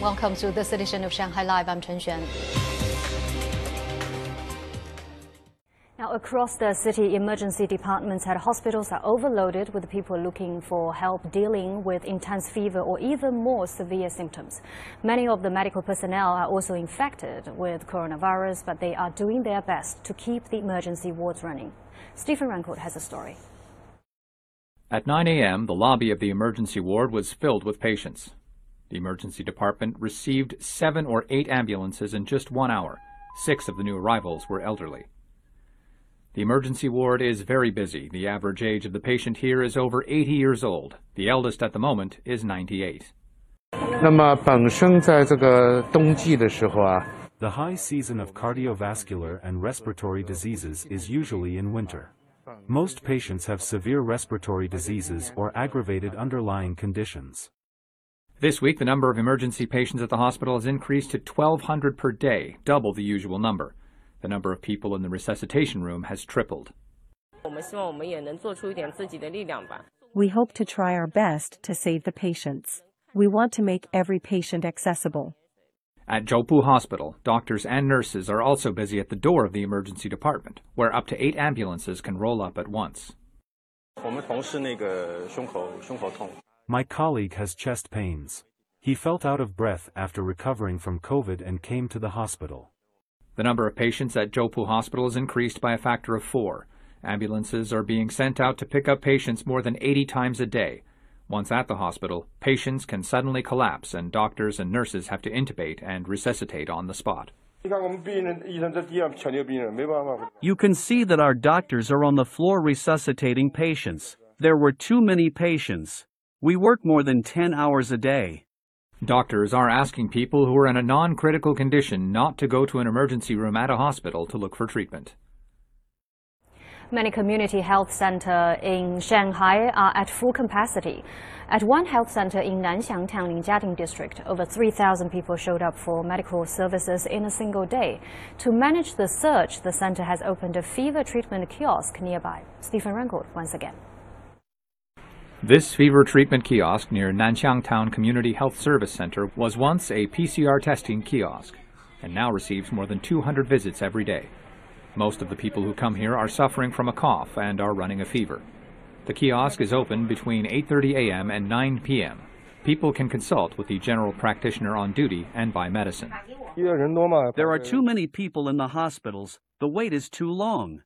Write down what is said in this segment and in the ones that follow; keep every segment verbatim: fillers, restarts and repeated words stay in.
Welcome to this edition of Shanghai Live. I'm Chen Xuan. Now, across the city, emergency departments at hospitals are overloaded with people looking for help dealing with intense fever or even more severe symptoms. Many of the medical personnel are also infected with coronavirus, but they are doing their best to keep the emergency wards running. Stephen Rancourt has a story. At nine a m, the lobby of the emergency ward was filled with patients. The emergency department received seven or eight ambulances in just one hour. Six of the new arrivals were elderly. The emergency ward is very busy. The average age of the patient here is over eighty years old. The eldest at the moment is ninety-eight. The high season of cardiovascular and respiratory diseases is usually in winter. Most patients have severe respiratory diseases or aggravated underlying conditions. This week, the number of emergency patients at the hospital has increased to twelve hundred per day, double the usual number. The number of people in the resuscitation room has tripled. We hope to try our best to save the patients. We want to make every patient accessible. At Zhoupu Hospital, doctors and nurses are also busy at the door of the emergency department, where up to eight ambulances can roll up at once. My colleague has chest pains. He felt out of breath after recovering from COVID and came to the hospital. The number of patients at Zhoupu Hospital is increased by a factor of four. Ambulances are being sent out to pick up patients more than eighty times a day. Once at the hospital, patients can suddenly collapse and doctors and nurses have to intubate and resuscitate on the spot. You can see that our doctors are on the floor resuscitating patients. There were too many patients. We work more than ten hours a day. Doctors are asking people who are in a non-critical condition not to go to an emergency room at a hospital to look for treatment. Many community health centers in Shanghai are at full capacity. At one health center in Nanxiang Tanglin Jiading District, over three thousand people showed up for medical services in a single day. To manage the surge, the center has opened a fever treatment kiosk nearby. Stephen Rancourt once again. This fever treatment kiosk near Nanxiang Town Community Health Service Center was once a P C R testing kiosk and now receives more than two hundred visits every day. Most of the people who come here are suffering from a cough and are running a fever. The kiosk is open between eight thirty a m and nine p m People can consult with the general practitioner on duty and buy medicine. There are too many people in the hospitals. The wait is too long.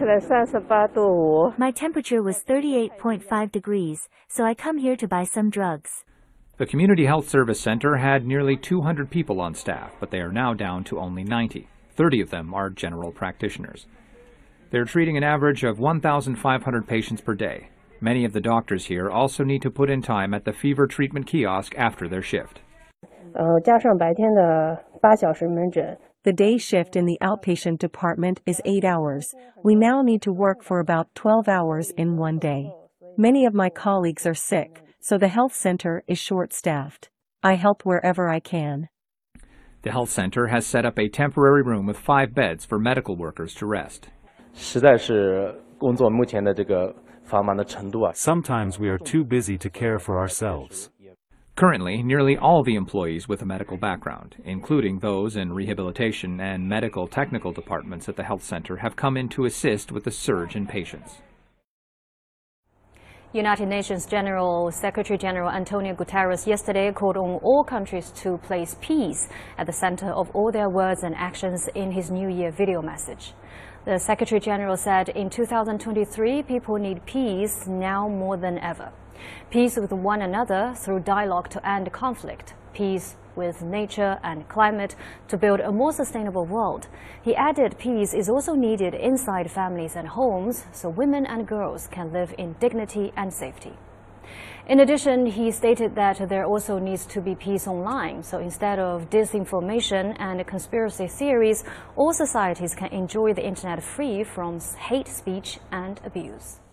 My temperature was thirty-eight point five degrees, so I come here to buy some drugs. The Community Health Service Center had nearly two hundred people on staff, but they are now down to only ninety. thirty of them are general practitioners. They're treating an average of one thousand five hundred patients per day. Many of the doctors here also need to put in time at the fever treatment kiosk after their shift. The day shift in the outpatient department is eight hours. We now need to work for about twelve hours in one day. Many of my colleagues are sick, so the health center is short-staffed. I help wherever I can. The health center has set up a temporary room with five beds for medical workers to rest. Sometimes we are too busy to care for ourselves. Currently, nearly all the employees with a medical background, including those in rehabilitation and medical technical departments at the health center, have come in to assist with the surge in patients. United Nations General Secretary General Antonio Guterres yesterday called on all countries to place peace at the center of all their words and actions in his New Year video message. The Secretary General said in two thousand twenty-three, people need peace now more than ever. Peace with one another through dialogue to end conflict. Peace with nature and climate to build a more sustainable world. He added peace is also needed inside families and homes so women and girls can live in dignity and safety. In addition, he stated that there also needs to be peace online, so instead of disinformation and conspiracy theories, all societies can enjoy the internet free from hate speech and abuse.